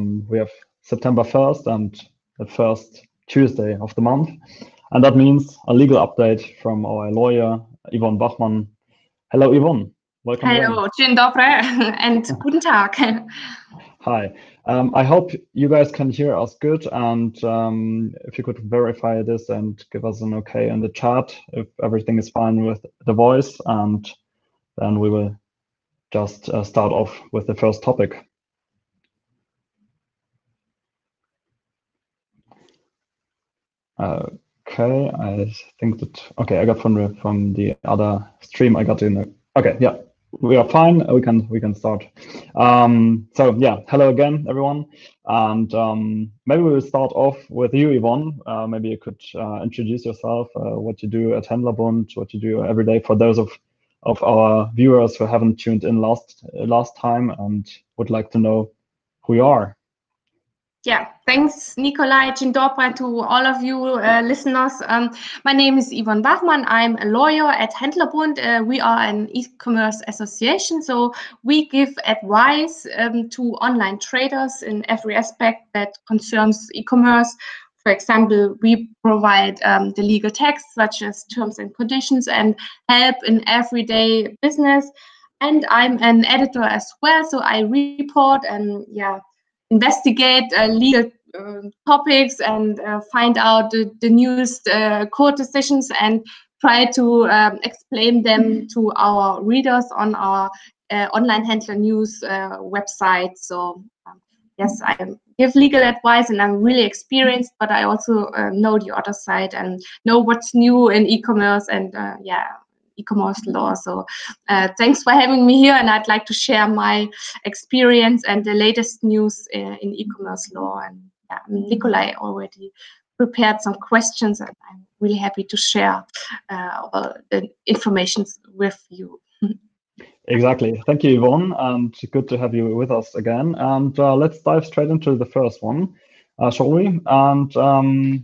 we have September 1st and the first Tuesday of the month. And that means a legal update from our lawyer, Yvonne Bachmann. Hello, Yvonne. Welcome. Hello, dzień dobry, and guten Tag. Hi. I hope you guys can hear us good, and if you could verify this and give us an okay in the chat if everything is fine with the voice, and then we will just start off with the first topic. Okay, I think that, okay, I got from the other stream, I got in the, okay, yeah, we are fine, we can start. So yeah, hello again, everyone. And maybe we'll start off with you, Yvonne. Maybe you could introduce yourself, what you do at Händlerbund, what you do every day for those of our viewers who haven't tuned in last time and would like to know who you are. Yeah, thanks, Nikolai. Dzień dobry to all of you listeners. My name is Yvonne Bachmann. I'm a lawyer at Händlerbund. We are an e-commerce association, so we give advice to online traders in every aspect that concerns e-commerce. For example, we provide the legal text, such as terms and conditions, and help in everyday business. And I'm an editor as well, so I report and investigate legal topics and find out the newest court decisions and try to explain them to our readers on our Online Händler News website. So yes, I give legal advice and I'm really experienced, but I also know the other side and know what's new in e-commerce and e-commerce law. So thanks for having me here, and I'd like to share my experience and the latest news in e-commerce law. And Nikolai already prepared some questions, and I'm really happy to share all the information with you. Exactly. Thank you, Yvonne, and good to have you with us again. And let's dive straight into the first one, shall we? And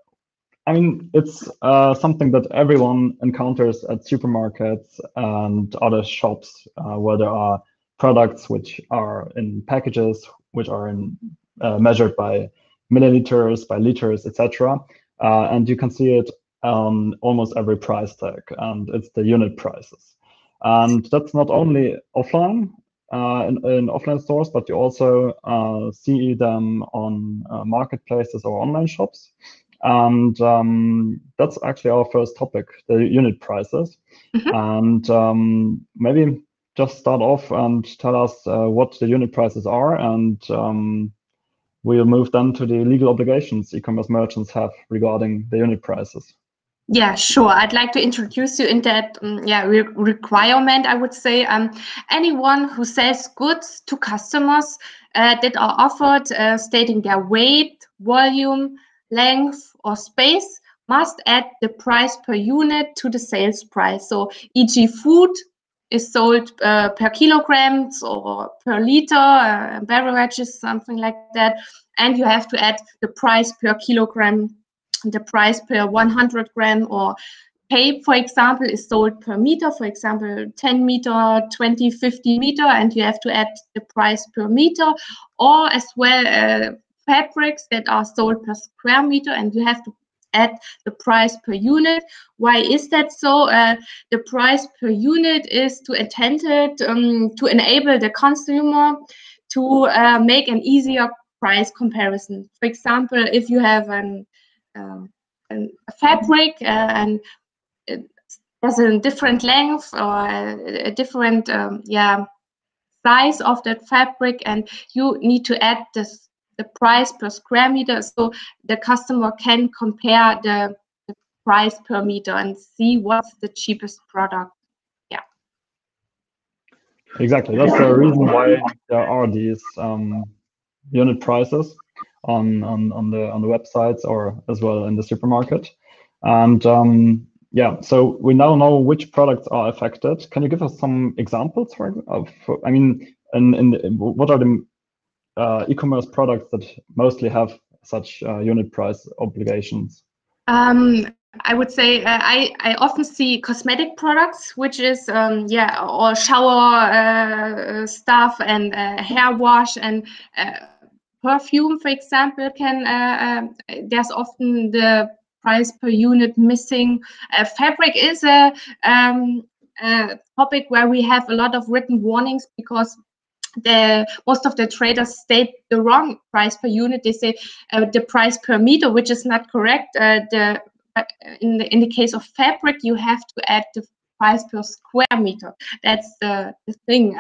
I mean, it's something that everyone encounters at supermarkets and other shops where there are products which are in packages, which are measured by milliliters, by liters, etc. And you can see it on almost every price tag, and it's the unit prices. And that's not only offline, in offline stores, but you also see them on marketplaces or online shops. And that's actually our first topic, the unit prices. Mm-hmm. And maybe just start off and tell us what the unit prices are, and we'll move then to the legal obligations e-commerce merchants have regarding the unit prices. Yeah, sure. I'd like to introduce you in that requirement, I would say. Anyone who sells goods to customers that are offered stating their weight, volume, length, or space must add the price per unit to the sales price. So, e.g., food is sold per kilograms or per liter, beverages, something like that. And you have to add the price per kilogram, the price per 100 gram, or tape, for example, is sold per meter, for example, 10 meter, 20, 50 meter, and you have to add the price per meter, or as well fabrics that are sold per square meter, and you have to add the price per unit. Why is that so? The price per unit is to enable the consumer to make an easier price comparison. For example, if you have a fabric and it has a different length or a different size of that fabric, and you need to add the price per square meter so the customer can compare the price per meter and see what's the cheapest product. Yeah. Exactly. That's the reason why there are these unit prices on the websites or as well in the supermarket. And so we now know which products are affected. Can you give us some examples I mean, what are the e-commerce products that mostly have such unit price obligations? I would say I often see cosmetic products, which is or shower stuff and hair wash and perfume, for example, can there's often the price per unit missing. Fabric is a topic where we have a lot of written warnings, because most of the traders state the wrong price per unit. They say the price per meter, which is not correct. In the case of fabric, you have to add the price per square meter. That's the thing.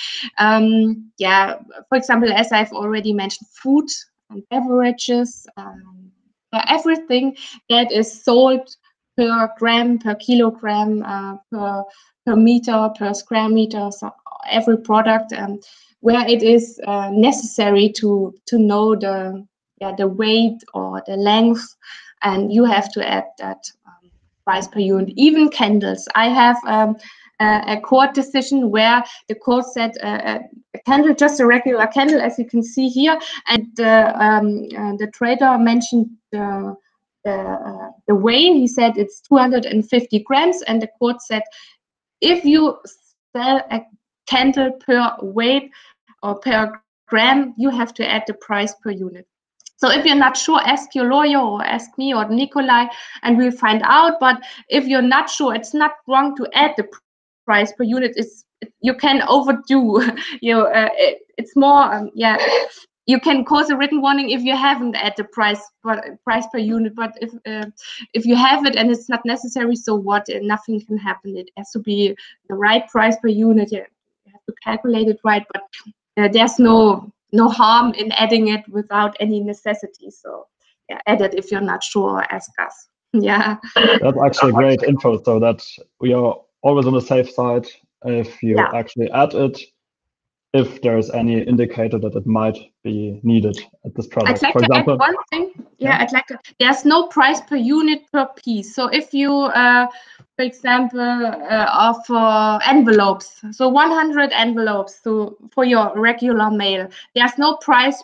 Yeah, for example, as I've already mentioned, food and beverages, everything that is sold per gram, per kilogram, per meter, per square meter, so every product, where it is necessary to know the weight or the length, and you have to add that price per unit. Even candles. I have a court decision where the court said a candle, just a regular candle, as you can see here, and the trader mentioned the weight. He said it's 250 grams, and the court said if you sell a candle per weight or per gram, you have to add the price per unit. So if you're not sure, ask your lawyer or ask me or Nikolai, and we'll find out. But if you're not sure, it's not wrong to add the price per unit. You can overdo. It's more. You can cause a written warning if you haven't added the price per unit. But if you have it and it's not necessary, so what? Nothing can happen. It has to be the right price per unit. You have to calculate it right. But there's no harm in adding it without any necessity. So yeah, add it if you're not sure, ask us. Yeah. That's actually great info, so that we are always on the safe side if you actually add it, if there's any indicator that it might be needed at this product. I'd like to add one thing. I'd like to. There's no price per unit per piece. So if you, for example, offer envelopes, so 100 envelopes for your regular mail, there's no price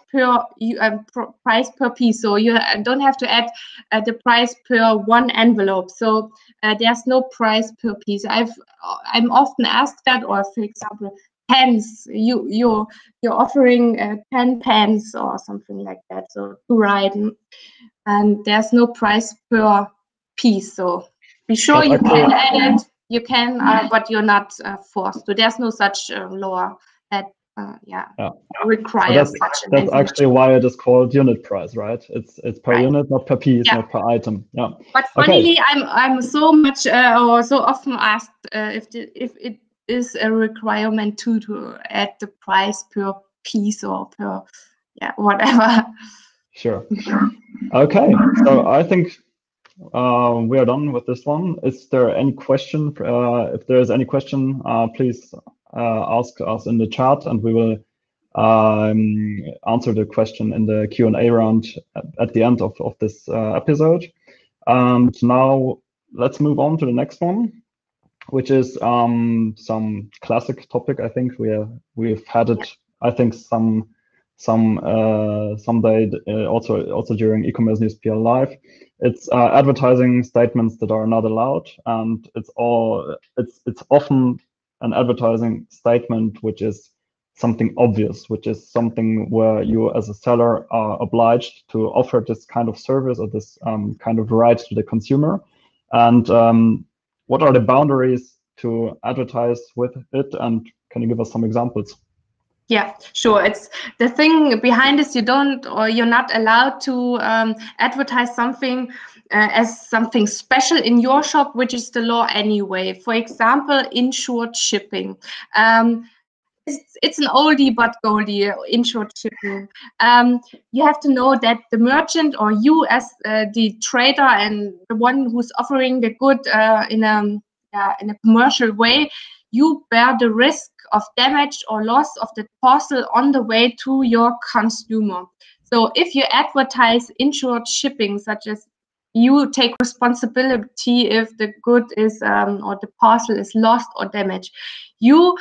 per piece. So you don't have to add the price per one envelope. So there's no price per piece. I'm often asked that, or for example, pens, you're offering 10 pens or something like that, so to write, and there's no price per piece. So be sure you can add it. You can, but you're not forced to. There's no such law that requires such an That's actually why it is called unit price, right? It's per unit, not per piece, not per item. Yeah. But funnily, I'm so much or so often asked if it is a requirement to add the price per piece or per whatever. Sure. Okay, so I think we are done with this one. Is there any question? If there is any question, please ask us in the chat, and we will answer the question in the Q&A round at the end of this episode. And now let's move on to the next one, which is some classic topic. I think we've had it. I think some day also during e-commerce news PL Live. It's advertising statements that are not allowed, and it's often an advertising statement which is something obvious, which is something where you as a seller are obliged to offer this kind of service or this kind of right to the consumer. And what are the boundaries to advertise with it? And can you give us some examples? Yeah, sure. It's the thing behind this. You're not allowed to advertise something as something special in your shop, which is the law anyway. For example, insured shipping. It's an oldie but goldie, insured shipping. You have to know that the merchant, or you as the trader and the one who's offering the good in a commercial way, you bear the risk of damage or loss of the parcel on the way to your consumer. So if you advertise insured shipping, such as you take responsibility if the good is or the parcel is lost or damaged, you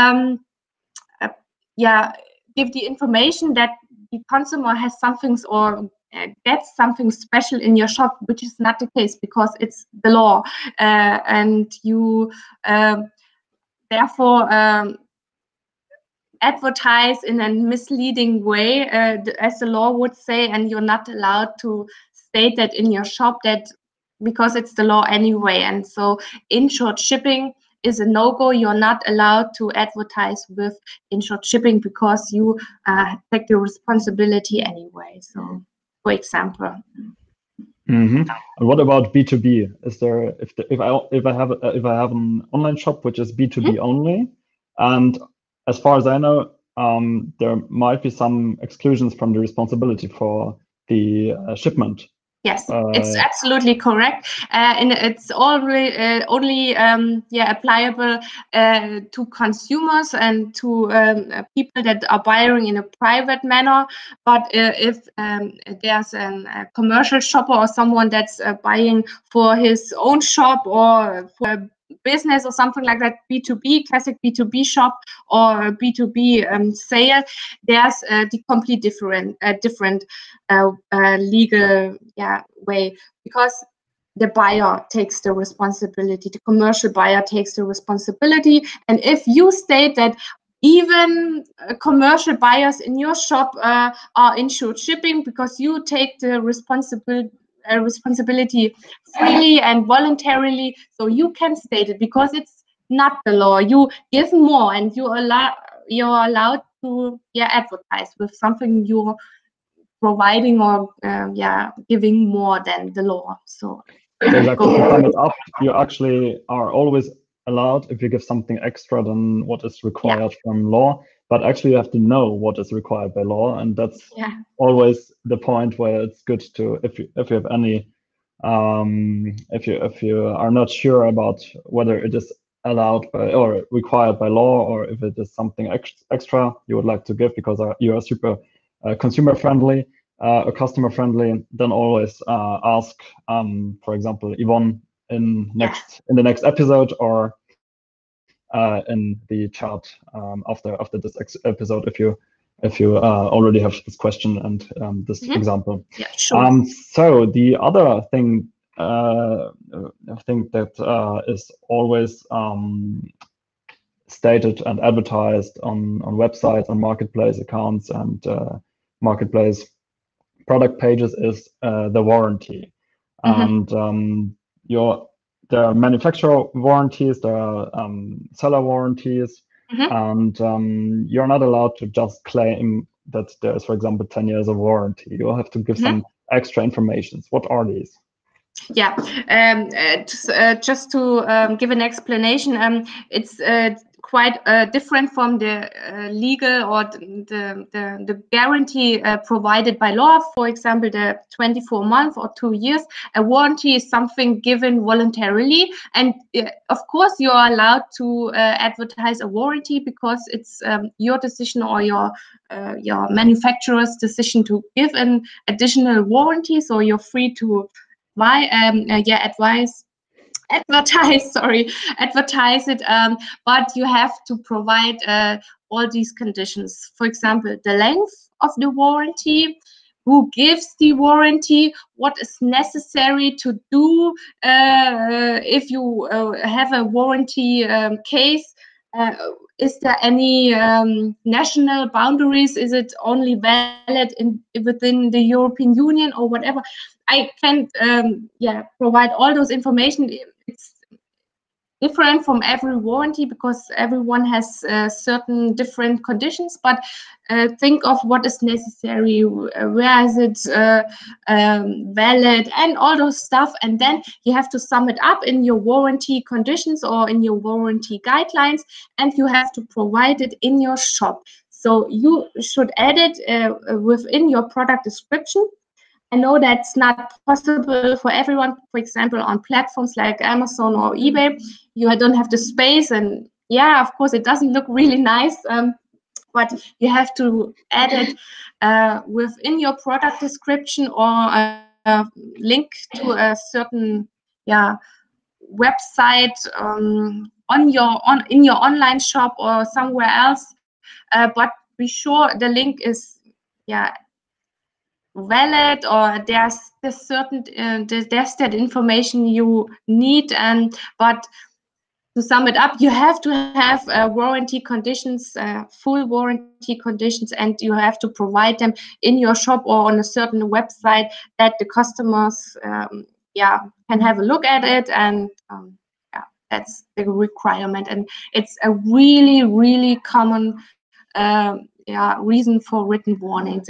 give the information that the consumer has something or gets something special in your shop, which is not the case because it's the law, and you therefore advertise in a misleading way, as the law would say, and you're not allowed to state that in your shop, that because it's the law anyway. And so insured shipping is a no-go. You're not allowed to advertise with insured shipping because you take the responsibility anyway. So, for example. And what about B2B? Is there, if I have an online shop which is B2B only, and as far as I know, there might be some exclusions from the responsibility for the shipment. Yes, it's absolutely correct, and it's only applicable to consumers and to people that are buying in a private manner. But if there's a commercial shopper or someone that's buying for his own shop or for a business or something like that, B2B, classic B2B shop or B2B sale, there's the complete different legal way, because the buyer takes the responsibility, the commercial buyer takes the responsibility. And if you state that even commercial buyers in your shop are insured shipping because you take the responsibility freely and voluntarily, so you can state it because it's not the law. You give more, and you're allowed to advertise with something you're providing or giving more than the law. So exactly, to sum it up, you actually are always allowed if you give something extra than what is required from law, but actually you have to know what is required by law, and that's always the point where it's good to, if you have any if you are not sure about whether it is allowed by or required by law, or if it is something extra you would like to give because you are super consumer friendly or customer friendly, then always ask, for example, Yvonne in the next episode, or in the chat after this episode if you already have this question and this example. Yeah, sure. So the other thing I think that is always stated and advertised on websites, on marketplace accounts, and marketplace product pages is the warranty. And there are manufacturer warranties, there are seller warranties, and you're not allowed to just claim that there's, for example, 10 years of warranty. You'll have to give some extra information. What are these? Yeah, just to give an explanation, it's quite different from the legal or the guarantee provided by law. For example, the 24 months or 2 years. A warranty is something given voluntarily, and of course you are allowed to advertise a warranty because it's your decision or your manufacturer's decision to give an additional warranty. So you're free to advertise it, but you have to provide all these conditions. For example, the length of the warranty, who gives the warranty, what is necessary to do if you have a warranty case. Is there any national boundaries? Is it only valid within the European Union or whatever? I can't provide all those information. It's different from every warranty because everyone has certain different conditions, but think of what is necessary, where is it valid, and all those stuff, and then you have to sum it up in your warranty conditions or in your warranty guidelines, and you have to provide it in your shop. So you should add it within your product description. I know that's not possible for everyone. For example, on platforms like Amazon or eBay, you don't have the space, and of course, it doesn't look really nice, but you have to add it within your product description or a link to a certain website in your online shop or somewhere else. But be sure the link is valid, or there's certain there's that information you need, but to sum it up, you have to have warranty conditions, full warranty conditions, and you have to provide them in your shop or on a certain website that the customers can have a look at it. And that's the requirement. And it's a really, really common reason for written warnings.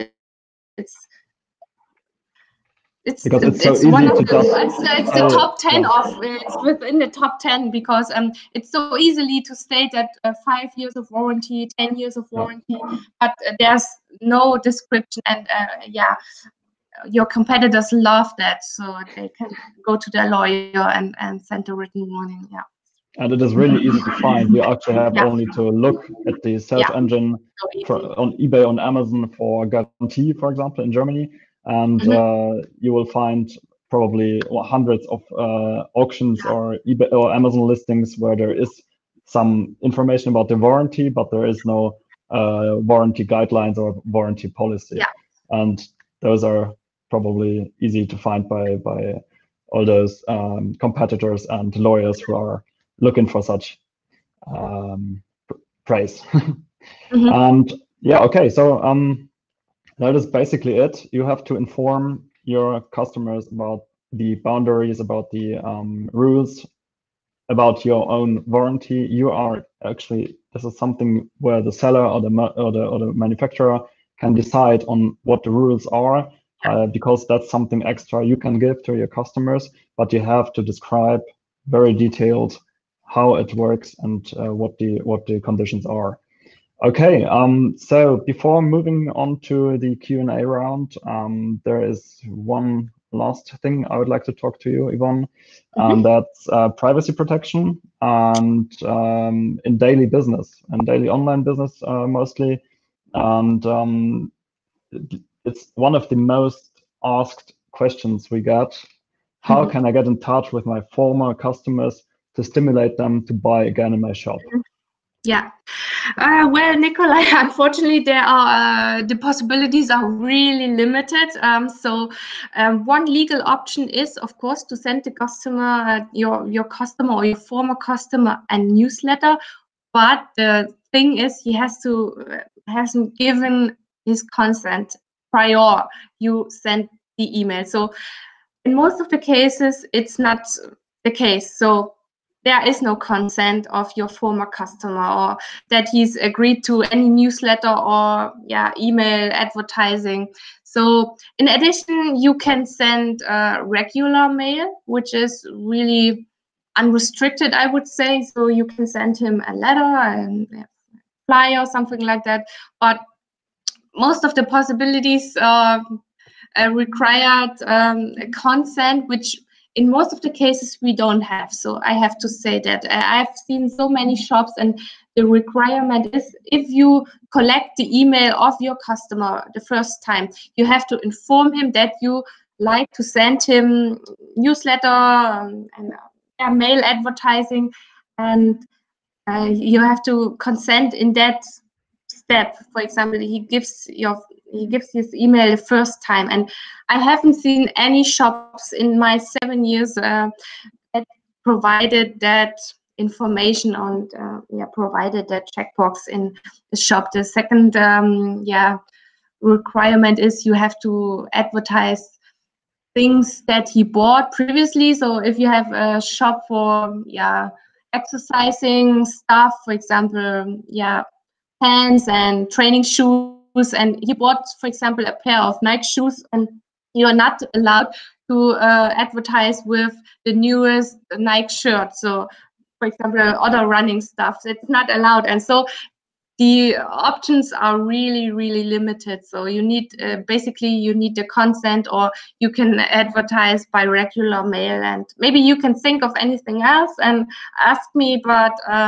It's because it's so easy one of to it's the top 10 of it's within the top 10 because it's so easily to state that 5 years of warranty, 10 years of warranty, but there's no description, and your competitors love that, so they can go to their lawyer and send a written warning. And it is really easy to find. You actually have only to look at the search engine on eBay, on Amazon for guarantee, for example, in Germany. And you will find probably hundreds of auctions or eBay or Amazon listings where there is some information about the warranty, but there is no warranty guidelines or warranty policy. And those are probably easy to find by all those competitors and lawyers who are looking for such praise. And okay, so that is basically it. You have to inform your customers about the boundaries, about the rules, about your own warranty. You are actually, this is something where the seller or the manufacturer can decide on what the rules are, because that's something extra you can give to your customers, but you have to describe very detailed how it works and what the conditions are. Okay, so before moving on to the Q&A round, there is one last thing I would like to talk to you, Yvonne, and that's privacy protection and in daily business and daily online business mostly. And it's one of the most asked questions we get. How can I get in touch with my former customers to stimulate them to buy again in my shop? Well, Nikolai, unfortunately, the possibilities are really limited. So one legal option is, of course, to send the customer, your customer or your former customer, a newsletter. But the thing is, he hasn't given his consent prior you send the email. So in most of the cases, it's not the case. So there is no consent of your former customer or that he's agreed to any newsletter or email advertising. So in addition, you can send regular mail, which is really unrestricted, I would say. So you can send him a letter and a flyer or something like that. But most of the possibilities required consent, which in most of the cases we don't have. So I have to say that I've seen so many shops, and the requirement is if you collect the email of your customer the first time, you have to inform him that you like to send him newsletter and mail advertising, and you have to consent in that step. For example, he gives his email the first time, and I haven't seen any shops in my 7 years that provided that information on provided that checkbox in the shop. The second requirement is you have to advertise things that he bought previously. So if you have a shop for exercising stuff, for example, pants and training shoes, and he bought, for example, a pair of Nike shoes, and you are not allowed to advertise with the newest Nike shirt. So, for example, other running stuff, it's not allowed. And so the options are really, really limited. So you need basically you need the consent, or you can advertise by regular mail. And maybe you can think of anything else and ask me, but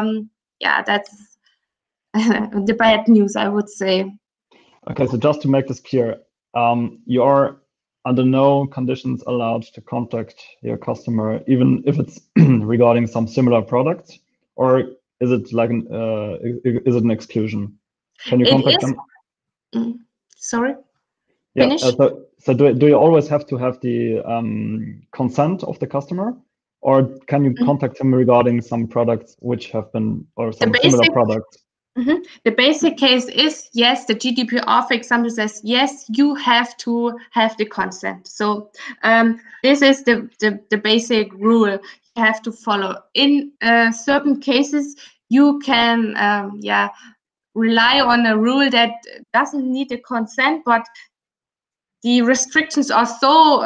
that's the bad news, I would say. Okay, so just to make this clear, you are under no conditions allowed to contact your customer, even if it's regarding some similar products, or is it like is it an exclusion? Can you contact them? Sorry. Yeah. So do you always have to have the consent of the customer, or can you contact him regarding some products which have been, or some similar products? The basic case is, yes, the GDPR, for example, says, yes, you have to have the consent. So this is the basic rule you have to follow. In certain cases, you can, rely on a rule that doesn't need a consent, but the restrictions are so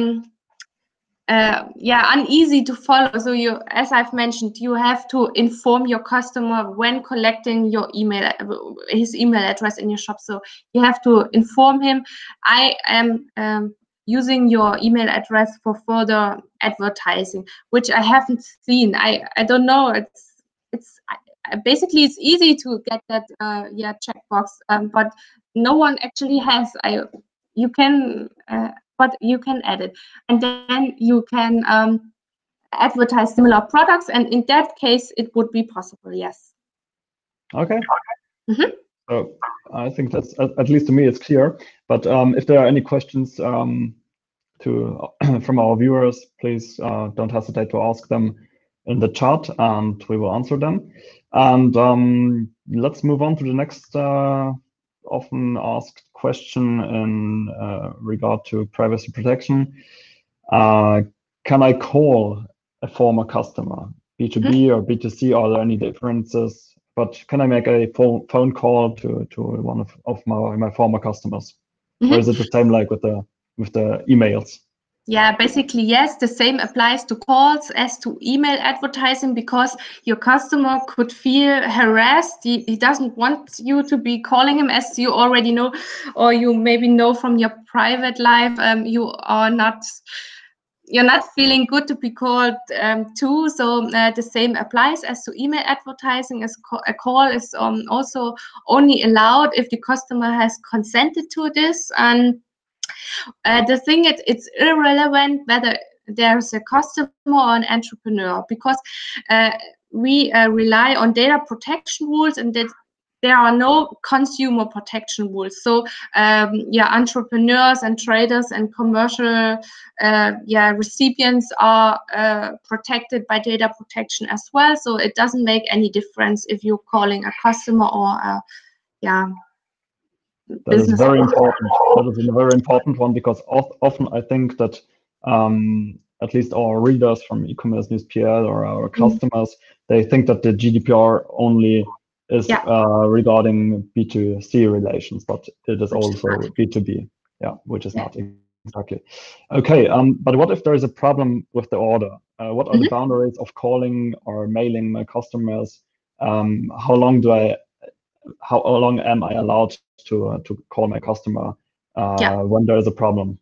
uneasy to follow. So you, as I've mentioned, you have to inform your customer when collecting your email, his email address in your shop. So you have to inform him, I am using your email address for further advertising, which I haven't seen. I don't know. It's basically it's easy to get that checkbox, but no one actually has. You can. But you can add it, and then you can advertise similar products, and in that case it would be possible, yes. Okay. So I think that's, at least to me, it's clear, but if there are any questions from our viewers, please don't hesitate to ask them in the chat and we will answer them. And let's move on to the next often asked question in regard to privacy protection. Can I call a former customer, B2B or B2C? Are there any differences? But can I make a phone call to one of my former customers? Or is it the same like with the emails? Yeah, basically, yes, the same applies to calls as to email advertising, because your customer could feel harassed. He doesn't want you to be calling him, as you already know, or you maybe know from your private life. You're not feeling good to be called too. So the same applies as to email advertising. As a call is also only allowed if the customer has consented to this. And the thing is, it's irrelevant whether there's a customer or an entrepreneur, because we rely on data protection rules, and that there are no consumer protection rules. So entrepreneurs and traders and commercial recipients are protected by data protection as well. So it doesn't make any difference if you're calling a customer or That is very important. That is a very important one, because often I think that at least our readers from e-commerce news PL or our customers, they think that the GDPR only is regarding B2C relations, but it is also B2B, which is not exactly. Okay, but what if there is a problem with the order? What are the boundaries of calling or mailing my customers? How long am I allowed to call my customer when there is a problem?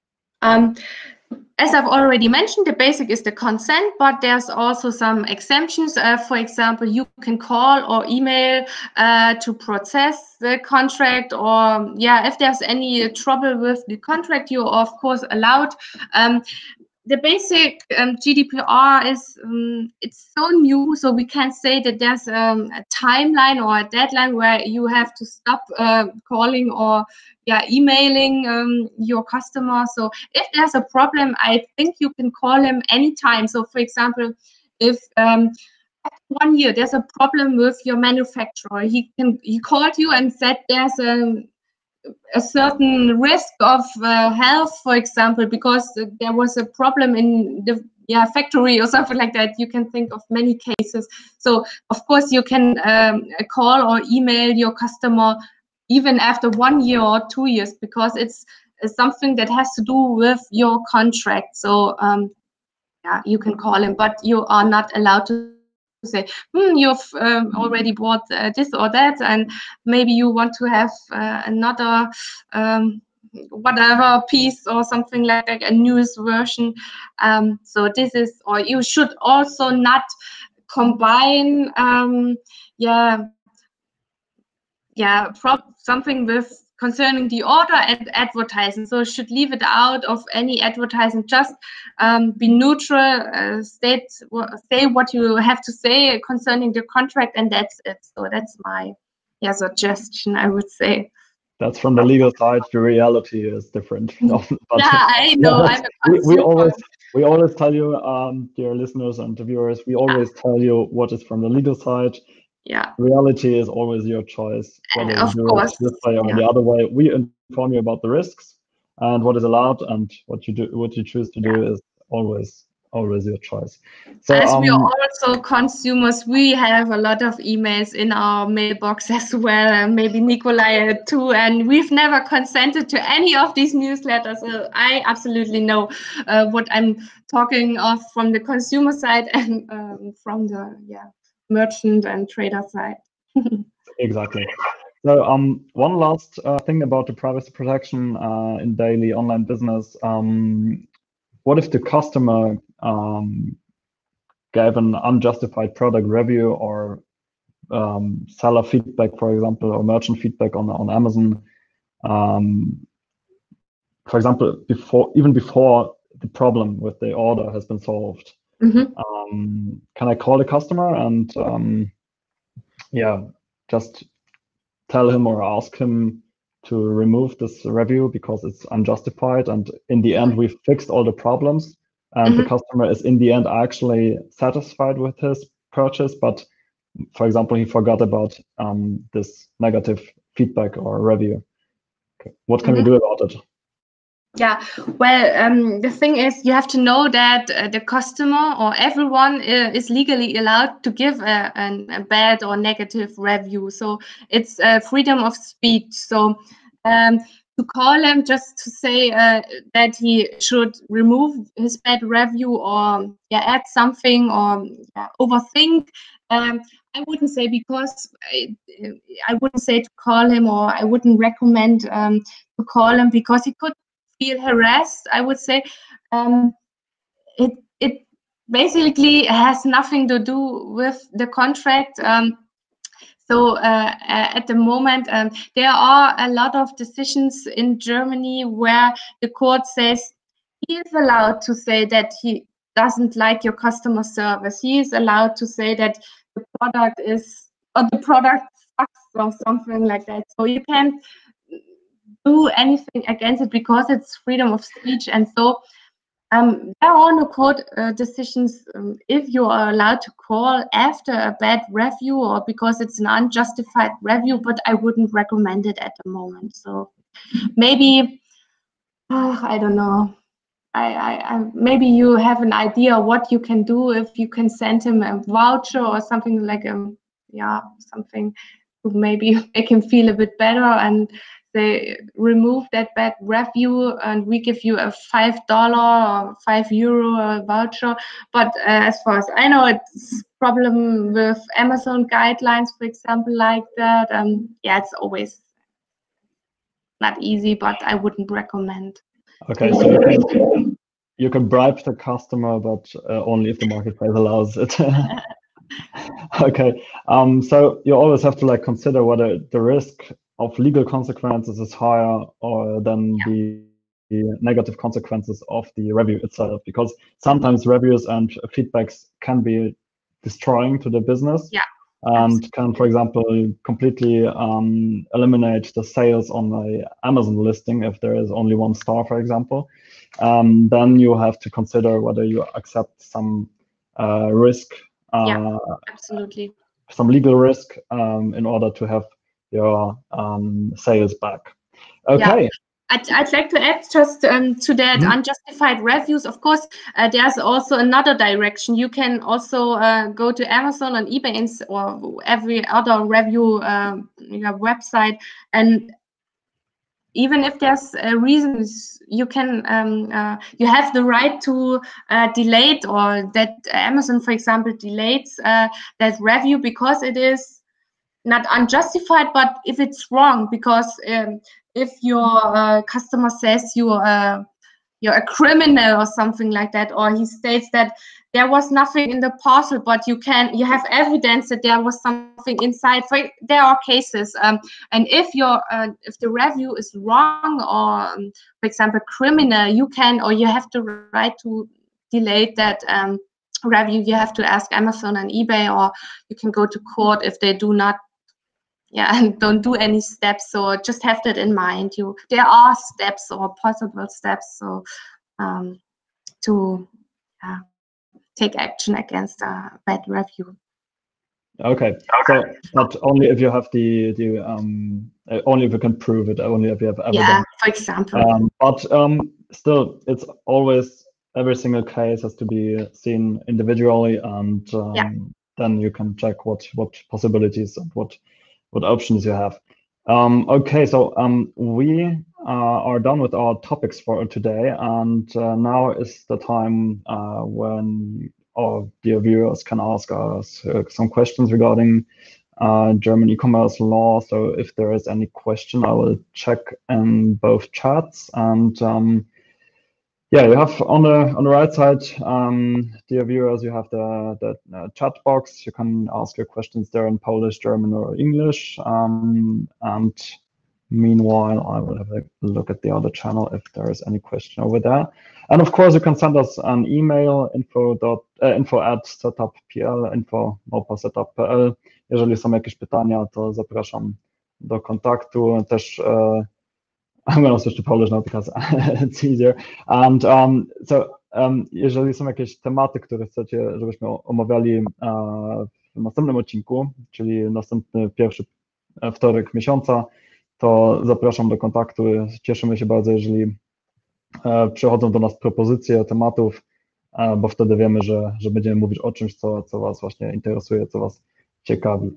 As I've already mentioned, the basic is the consent, but there's also some exemptions. For example, you can call or email to process the contract, or if there's any trouble with the contract, you're of course allowed. The basic GDPR is it's so new, so we can't say that there's a timeline or a deadline where you have to stop calling or emailing your customer. So if there's a problem, I think you can call him anytime. So for example, if after 1 year there's a problem with your manufacturer, he called you and said there's a certain risk of health, for example, because there was a problem in the factory or something like that. You can think of many cases. So of course you can call or email your customer even after 1 year or 2 years, because it's something that has to do with your contract. So you can call him, but you are not allowed to say, you've already bought this or that, and maybe you want to have another whatever piece or something like that, a newest version. So this is, or you should also not combine something with concerning the order and advertising. So should leave it out of any advertising. Just be neutral, say what you have to say concerning the contract, and that's it. So that's my suggestion, I would say. That's from the legal side. The reality is different. I know. we always we always tell you, dear listeners and viewers, we always tell you what is from the legal side. Yeah. Reality is always your choice, whether Of you do course. it this way or the other way. We inform you about the risks and what is allowed, and what you choose to do is always your choice. So as we are also consumers, we have a lot of emails in our mailbox as well, and maybe Nikolai too, and we've never consented to any of these newsletters. So I absolutely know what I'm talking of from the consumer side and from the merchant and trader side. Exactly. So one last thing about the privacy protection in daily online business. What if the customer gave an unjustified product review or seller feedback, for example, or merchant feedback on Amazon? For example, before the problem with the order has been solved, can I call the customer and just tell him or ask him to remove this review because it's unjustified, and in the end we fixed all the problems, and the customer is in the end actually satisfied with his purchase, but for example he forgot about this negative feedback or review? What can we do about it? Yeah, well, the thing is, you have to know that the customer or everyone is legally allowed to give a bad or negative review. So it's freedom of speech. So to call him just to say that he should remove his bad review or add something or overthink, I wouldn't say, because I wouldn't say to call him, or I wouldn't recommend to call him, because he could feel harassed. I would say it basically has nothing to do with the contract. So at the moment, there are a lot of decisions in Germany where the court says he is allowed to say that he doesn't like your customer service. He is allowed to say that the product sucks or something like that. So you can't do anything against it because it's freedom of speech. And so there are no court decisions if you are allowed to call after a bad review or because it's an unjustified review, but I wouldn't recommend it at the moment. So maybe, I don't know. I maybe you have an idea what you can do, if you can send him a voucher or something like something to maybe make him feel a bit better, and they remove that bad review and we give you a $5 or €5 voucher. But as far as I know, it's problem with Amazon guidelines, for example, like that. It's always not easy, but I wouldn't recommend. Okay, so you can bribe the customer, but only if the marketplace allows it. Okay, so you always have to consider whether the risk of legal consequences is higher or than the negative consequences of the review itself, because sometimes reviews and feedbacks can be destroying to the business. And can, for example, completely eliminate the sales on the Amazon listing if there is only 1 star, for example. Then you have to consider whether you accept some risk, absolutely, some legal risk in order to have your sales back. Okay. I'd like to add just to that unjustified reviews. Of course, there's also another direction. You can also go to Amazon and eBay or every other review website, and even if there's reasons, you can you have the right to delay it, or that Amazon, for example, delays that review because it is not unjustified, but if it's wrong, because if your customer says you're a criminal or something like that, or he states that there was nothing in the parcel, but you have evidence that there was something inside. There are cases, and if the review is wrong or, for example, criminal, you have the right to delay that review. You have to ask Amazon and eBay, or you can go to court if they do not and don't do any steps. So just have that in mind. There are steps or possible steps, so to take action against a bad review. Okay, so but only if you have only if you can prove it, only if you have evidence. Yeah, for example. But still, it's always, every single case has to be seen individually, and then you can check what possibilities and what options you have. Okay, so we are done with our topics for today, and now is the time when our dear viewers can ask us some questions regarding German e-commerce law. So if there is any question, I will check in both chats. And yeah, you have on the right side, dear viewers, you have the chat box. You can ask your questions there in Polish, German, or English. And meanwhile, I will have a look at the other channel if there is any question over there. And of course, you can send us an email, info@setup.pl, info@setup.pl. Jeżeli są jakieś pytania, to zapraszam do kontaktu. Też I'm going to switch to Polish now because it's easier. And jeżeli są jakieś tematy, które chcecie, żebyśmy omawiali w następnym odcinku, czyli następny pierwszy wtorek miesiąca, to zapraszam do kontaktu. Cieszymy się bardzo, jeżeli przychodzą do nas propozycje tematów, bo wtedy wiemy, że będziemy mówić o czymś, co Was właśnie interesuje, co Was ciekawi.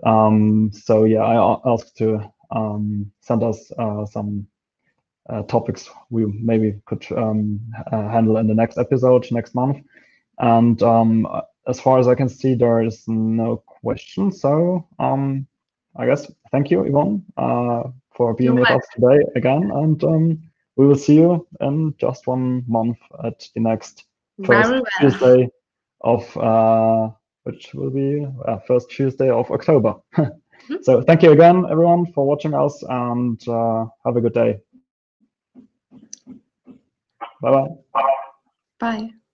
So yeah, I asked to send us some topics we maybe could handle in the next episode next month. And as far as I can see, there is no question. So I guess thank you, Yvonne, for being with us today again. And we will see you in just 1 month at the next first Tuesday of which will be first Tuesday of October. So thank you again, everyone, for watching us, and have a good day. Bye-bye. Bye.